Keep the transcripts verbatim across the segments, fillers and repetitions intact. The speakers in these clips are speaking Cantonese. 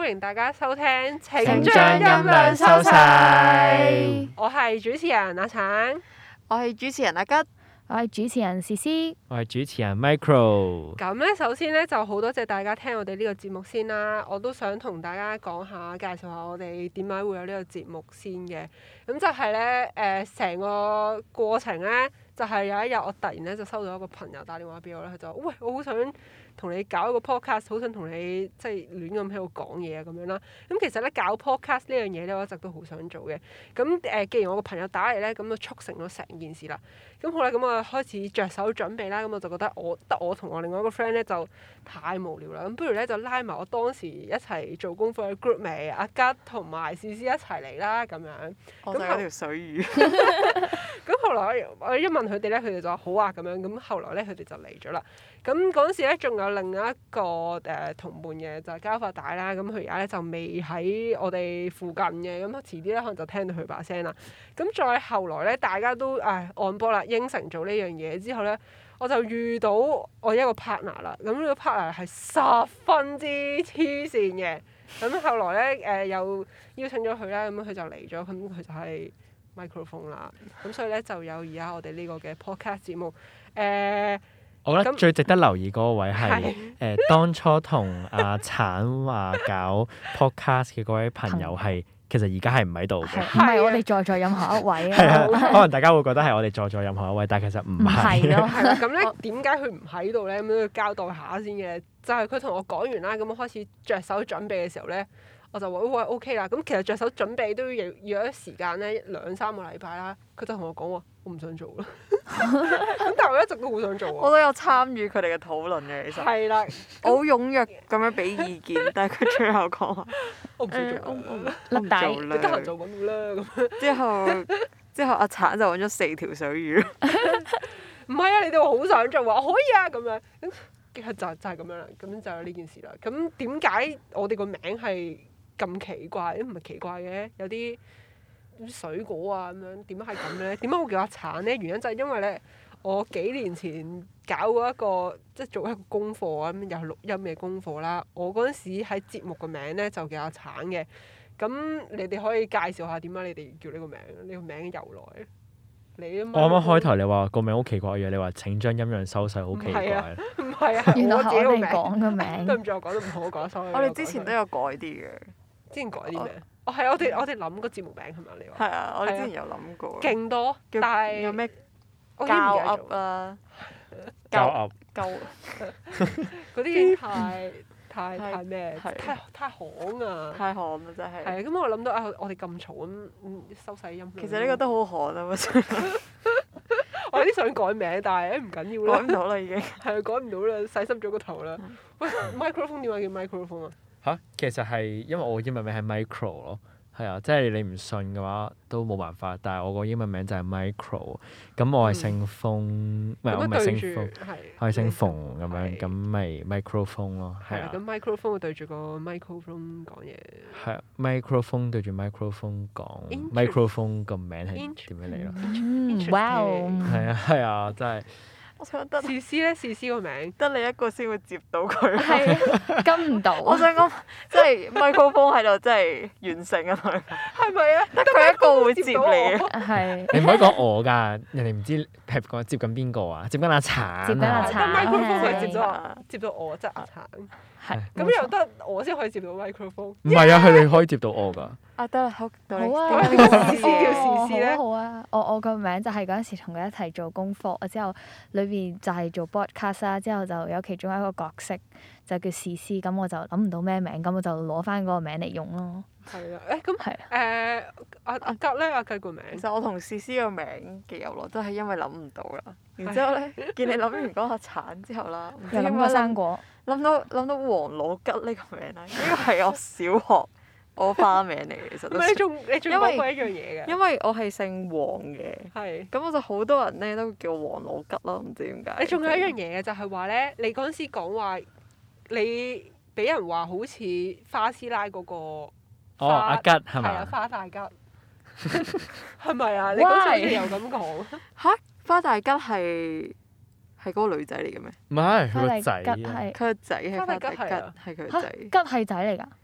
迎大家收聽，請請將音量收細。 我我係主持人阿橙， 我係主持人阿吉， 我係主持人詩詩。 我係主持人 Micro。 咁咧首先咧就好多謝大家聽我哋呢個節目先啦，我都想同大家講下，介紹下我哋點解會有呢個節目先嘅。咁就係咧誒，成、呃、個過程咧就係、是、有一日我突然咧就收到一個朋友打電話俾我咧，佢就話喂，我好想同你搞一個 podcast， 好想同你即係亂咁喺度講嘢啊咁樣啦。咁其實咧搞 podcast 呢樣嘢咧，我一直都好想做嘅。咁誒、呃，既然我個朋友打嚟咧，咁就促成咗成件事啦。咁好啦，咁我開始着手準備啦。咁我就覺得我得我同我另外一個 friend 咧就太無聊啦。咁不如咧就拉埋我當時一齊做功課嘅 group 咪阿吉同埋詩詩一齊嚟啦咁樣。 我就有條水魚。 咁後來我一問佢哋咧，佢哋就話好啊咁樣。咁後來咧佢哋就嚟咗啦。咁嗰陣時咧仲有另一個誒、呃、同伴嘅就係交發帶啦。咁佢而家咧就未喺我哋附近嘅。咁遲啲咧可能就聽到佢把聲啦。咁再後來咧大家都誒按波啦，應承做呢樣嘢之後咧，我就遇到我一個 partner 啦。咁呢個 partner 係十分之黐線嘅。咁後來咧誒、呃、又邀請咗佢啦，咁佢就嚟咗。咁佢就係 microphone 啦。咁所以咧就有而家我哋呢個嘅 podcast 節目誒。呃我覺得咁最值得留意嗰個位係係誒、呃、當初同阿橙話搞 podcast 嘅嗰位朋友係其實而家係唔喺度嘅。 係唔係我哋在座任何一位係啊？ 啊，可能大家會覺得係我哋在座任何一位，但係其實唔唔係係。 咯， 係啦，咁咧點解佢唔喺度咧？咁都要交代下先嘅。就係佢同我講完啦，咁我開始着手準備嘅時候咧，我就話喂 OK 啦。咁其實着手準備都要要一時間咧，兩三個禮拜啦。佢就同我講話，我唔想做啦。咁但係我一直都好想做喎。 我都有參與佢哋嘅討論嘅，其實。 係啦， 我好踴躍咁樣俾意見，但係佢最後講話我唔想誒， 做啦。 我我甩底我唔做你得閒啦。 就揾我啦咁。 之後之後阿橙就揾咗四條水魚。 唔係啊！你哋話好想做啊，可以啊咁樣。咁就就係咁樣啦。咁就有呢件事啦。咁點解我哋個名係咁奇怪？唔係奇怪嘅，有啲水果啊咁樣，點解係咁咧？點解會叫阿橙咧？原因就係因為咧，我幾年前搞過一個即係做一個功課啊，咁又係錄音嘅功課啦。我嗰陣時喺節目個名咧就叫阿橙嘅。咁你哋可以介紹下點解你哋叫呢個名？呢個名嘅由來。你啊嘛。 我啱啱開頭你話個名好奇怪嘅，你話請將音量收細好奇怪。 唔係啊， 原來我自己個名。 係我哋講嘅名。 對唔住，我講得唔好，我講錯。 我哋之前都有改啲嘅。 之前改啲咩？哦，係我哋我哋諗個節目名係咪？你話係啊，我哋之前有諗過。 勁多， 叫但係有咩我已經唔膠記得咗噏啦， 交噏鳩嗰啲嘢太太太太咩？ 係太太行啊！ 太寒啦，真係。 係啊，咁我諗到啊，我哋咁嘈咁，嗯收細音量。 其實呢個都好寒啊！我真係我有啲想改名，但係誒唔緊要啦。 改唔到啦，已經。 係啊，改唔到啦，細濕咗個頭啦。喂，microphone 點解叫 microphone 啊？ 嚇，其實係因為我英文名係 Micro 咯，係啊，即係你唔信嘅話都冇辦法。但係我個英文名就係 Micro，咁我係姓馮，唔係我唔係姓馮，我係姓馮咁樣，咁咪 microphone 咯，係啊。 係咁 microphone 對住個 microphone 講嘢。 係啊，microphone 對住 microphone 講 Interesting ，microphone 個名係點樣嚟咯？ 嗯，哇哦！ 係啊係啊，真係。 我想得試詩咧，試詩個名。 得你一個先會接到佢。 係跟唔到。 我想講，即係 microphone 喺度，真係完成啊！同佢係咪啊？ 得佢一個會接你啊！ 係。 你唔可以講我㗎，人哋唔知係講接緊邊個啊？接緊阿橙接緊阿啊！ 橙但 microphone 係係接咗我，接到我即係阿橙。 係。 咁又得我先可以接到 microphone。 唔係啊，佢哋可以接到我㗎。 啊得啦，好，到你好啊， 點解好叫試詩叫試詩咧好啊，好啊！我我個名就係嗰陣時同佢一齊做功課，之後裏邊就係做 broadcast 啦，之後就有其中一個角色就叫試詩，咁我就諗唔到咩名，咁我就攞翻嗰個名嚟用咯。 係啊，誒咁係誒阿阿吉咧，阿吉個名其實我同詩詩個名嘅由來都係因為諗唔到啦。然之後咧，見你諗完嗰個橙之後啦，唔知又諗過點解生果， 諗到諗到黃老吉呢個名啦，呢個係我小學我花名嚟嘅，其實都唔係你仲你仲因為講過一樣嘢嘅。 因為我係姓黃嘅， 係。 咁我就好多人咧都叫我黃老吉咯，唔知點解。 你仲有一樣嘢嘅就係話咧，你嗰陣時講話你俾人話好似花師奶嗰個哦，阿吉係係啊嘛？ 花大吉，係咪啊？你嗰陣時又咁講。 嚇，花大吉係係嗰個女仔嚟嘅咩？ 唔係佢個仔花大吉啊。 係佢個仔係花大吉， 花大吉係啊係佢個嚇仔。 吉係仔嚟㗎。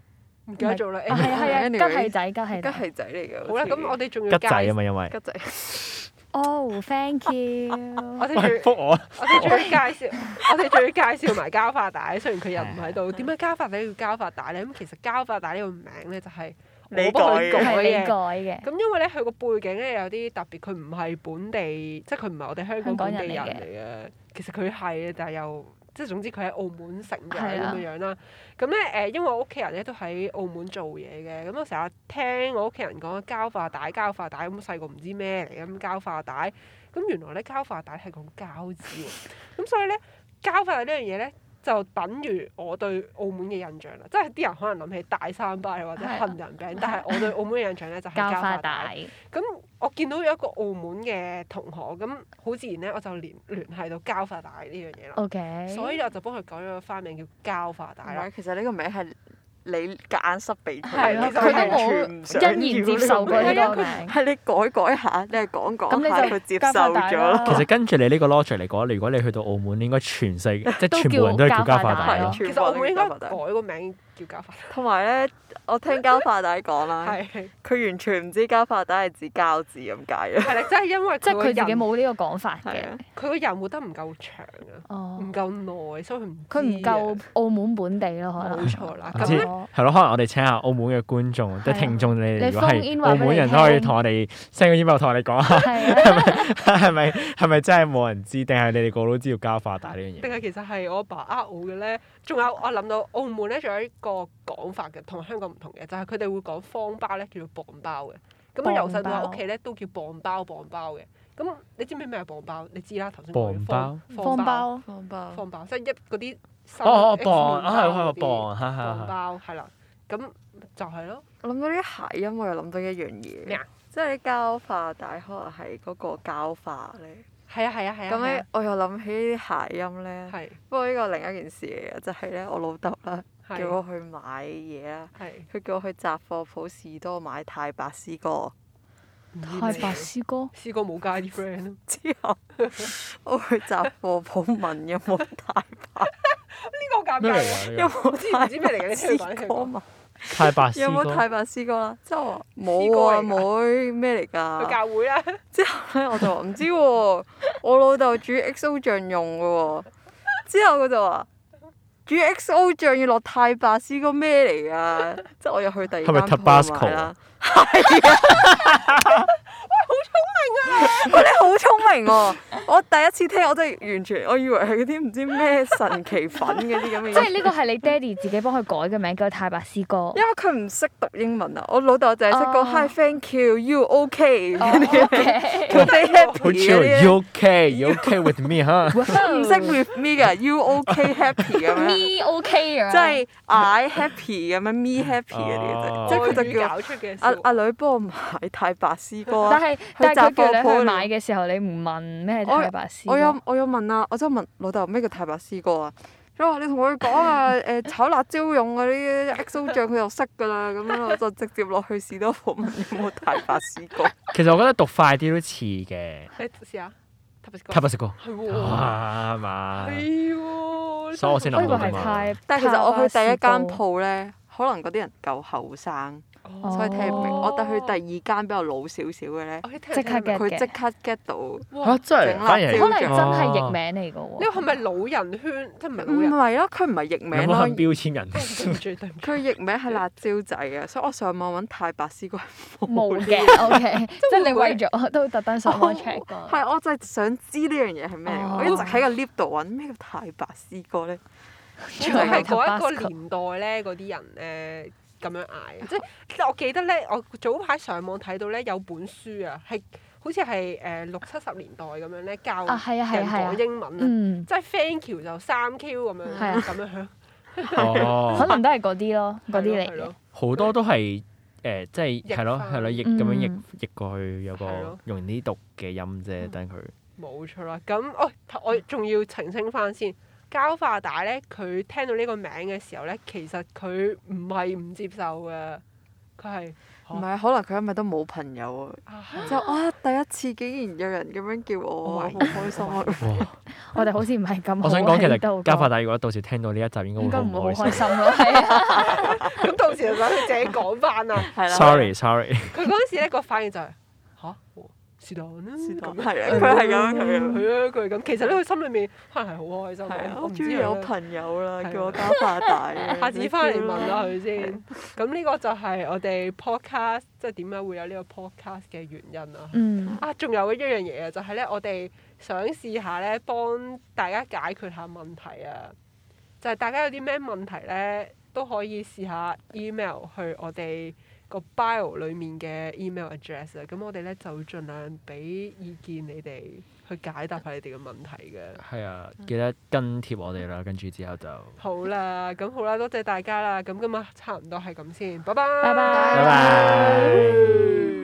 唔記得咗啦。 係啊係啊， Anyway， 吉係仔，吉係吉仔。 係仔嚟㗎。 好啦，咁我哋仲要吉仔啊嘛，因為吉仔。 哦，thank you。 我哋喂， 仲覆我啊！ 我哋仲要介紹，我哋仲要介紹埋膠化帶。雖然佢又唔喺度，點解膠化帶要膠化帶咧？咁其實膠化帶呢個名咧就係我幫佢改係你嘅。 改嘅。 咁因為咧佢個背景咧有啲特別，佢唔係本地，即係佢唔係我哋香港本地人嚟嘅。其實佢係，但係又即係總之佢喺澳門成長咁樣樣啦。咁咧誒，因為我屋企人咧都喺澳門做嘢嘅，咁我成日聽我屋企人講膠化帶、膠化帶，咁細個唔知咩嚟嘅咁膠化帶。咁原來咧膠化帶係講膠紙喎，咁所以咧膠化帶呢樣嘢咧就等於我對澳門嘅印象啦，即係啲人可能諗起大三巴或者杏仁餅，但係我對澳門嘅印象咧就係膠化帶。咁我見到有一個澳門嘅同學，咁好自然咧我就聯聯繫到膠化帶呢樣嘢啦。 OK。 所以我就幫佢改咗個花名叫膠化帶啦。 其實呢個名係你夾硬塞俾佢， 係咯其實佢佢都完全唔想要欣然接受過呢個名。 係你改改下，你係講講下， 咁你就佢接受咗咯。 其實跟住你呢個 logic 嚟講，如果你去到澳門，應該全世即係都全部人都係叫膠叫膠化帶化帶咯。 其實澳門應該改個名叫膠化帶。 同埋咧，我聽膠化帶講啦， 係佢完全唔知膠化帶係指膠紙咁解嘅。 係啦，即係因為即係佢自己人冇呢個講法嘅。 係啊佢個人活得唔夠長啊， 哦唔夠耐，所以佢唔佢唔知啊夠澳門本地咯，可能。 冇錯啦。 唔知咁咧係咯，可能我哋請下澳門嘅觀眾，即係聽眾，你哋如果 phone in 係澳門人都可以同我哋 send 個 email 同我哋講下， 係啊。 係咪係咪真係冇人知，定係你哋個個都知道膠化帶呢樣嘢？ 定係其實係我阿爸呃我嘅咧？仲有我諗到澳門咧，仲有一個講法嘅，同香港唔同嘅，就係佢哋會講方包咧叫做磅包嘅。咁我由細到大屋企咧都叫磅包磅包嘅。咁你知唔知咩係磅包？你知啦，頭先講嘅磅方方包。 方包。 方包，即係一嗰啲哦哦 X 磅啊係麵包嗰啲係磅，係係磅係。 包係啦。咁就係咯。 我諗到啲諧音，我又諗到一樣嘢。 咩啊？ 即係啲膠化帶可能係嗰個膠化咧。 係啊係啊係啊。 咁咧，我又諗起啲諧音咧。 係不過呢個另一件事嚟嘅，就係咧，我老豆啦， 係叫我去買嘢啦。 係。 佢叫我去雜貨鋪士多買太白絲歌。 太白絲歌。 試過冇加啲 friend 咯。 之後我去雜貨鋪問有冇太白， 呢個尷咩嚟尬。 㗎？ 有呢冇知唔知咩嚟嘅？你聽佢講，你聽佢講。 歌嘛？ 個太白有絲歌冇太白絲歌啦？之後我話絲冇啊， 歌嚟㗎妹咩嚟去㗎？ 教會啦。 之後咧我就話唔知喎，我老豆煮 X O 醬用嘅喎。之後佢就話煮 X O 醬要落太白絲歌咩嚟㗎？即係我又去第二間係咪鋪 Tabasco 買啦。係啊！喂，你好聰明喎！我第一次聽，我真係完全，我以為係嗰啲唔知咩神奇粉嗰啲咁嘅嘢。 即係呢個係你爹哋自己幫佢改嘅名，叫太白絲歌。 因為佢唔識讀英文啊，我老豆就係識講 Hi thank you you OK 嗰啲， 哦佢哋 happy 好嗰 chill。 啲 You OK? You OK with me？嚇？ 唔識 with me 㗎，you OK happy 咁樣， Me OK 咁樣。 即係 I happy 咁樣，me happy 嗰啲哦啫，即係佢就叫搞出嘅阿笑阿女幫我買太白絲歌啊。 但係但係佢叫你雜貨鋪去買嘅時候，你唔問咩係太白絲歌？ 我有我有問啊，我真係問老豆咩叫太白絲歌啊？佢話你同佢講啊，誒炒辣椒用嗰啲 X O 醬佢就識㗎啦，咁樣我就直接落去士多鋪問有冇太白絲歌。 其實我覺得讀快啲都似嘅。 你試下。 太白絲歌。 係喎。 啊係嘛？ 係喎。 所以我先我以為諗到㗎嘛。 係太。 但係其實我去第一間鋪， 鋪咧，可能嗰啲人夠後生， 哦所以聽唔明。我但去第二間比較老少少嘅咧， 即刻 get 佢即刻 get 到。 嚇真係整辣反而係椒可能真係譯哦名嚟㗎喎。 呢個係咪老人圈？即係唔係唔老人？ 係咯，佢唔係譯有名咯冇肯，標籤人？ 對唔住對唔住。 佢譯名係辣椒仔嘅，所以我上網揾太白絲歌係冇冇嘅，OK，即係你會唔會為咗都特登上網 check 過。 係，我就係想知呢樣嘢係咩嚟哦我一直喺個 lift 度揾咩叫太白絲歌咧。 會唔會係嗰一個年代咧，嗰啲人誒咁樣嗌？即係即係我記得咧，我早排上網睇到咧有本書啊，係好似係誒六七十年代咁樣咧教啊係啊係人啊係啊講英文啊， 嗯， 即係 thank you 就三 Q 咁樣係啊咁樣響。 哦， 可能都係嗰啲咯，嗰啲嚟嘅係咯。 好多都係誒，即係譯係咯返係咯，譯咁樣譯嗯譯過去有個係咯用啲讀嘅音啫，等佢。 冇錯啦，咁哦，我仲要澄清翻先，膠化帶咧，佢聽到呢個名嘅時候咧，其實佢唔係唔接受嘅，佢係唔係，可能佢因為都冇朋友啊， 啊就啊第一次竟然有人咁樣叫我， 我好開心啊！ 哇！ 我哋好似唔係咁好我想講其實喺度膠化帶如果到時聽到呢一集應該會應該唔會好好唔開心。 開心咯，係啊。 咁到時就想佢自己講翻啊。 係啦。 sorry sorry。 佢嗰陣時咧個反應就係吓？是但啦， 是但咁係啊，佢係咁，佢係咁。 係啊，佢係咁。其實咧，佢心裏面可能係好開心。 係啊， 我唔知我終於有啊。 朋友啦， 係啊叫我加拿大嘅。 下次翻嚟問啦下佢先。咁呢個就係我哋 podcast 即係點解會有呢個 podcast 嘅原因啊。 嗯。 啊，仲有一樣嘢啊，就係咧，我哋想試下咧，幫大家解決下問題啊。就係大家有啲咩問題咧，都可以試下 email 去我哋個 bio 裡面嘅 email address 啊。咁我哋咧就盡量俾意見你哋去解答下你哋嘅問題嘅。 係啊，記得跟貼我哋啦，跟住之後就好啦，咁好啦，多謝大家啦。咁今日差唔多係咁先，拜拜。 拜拜拜拜。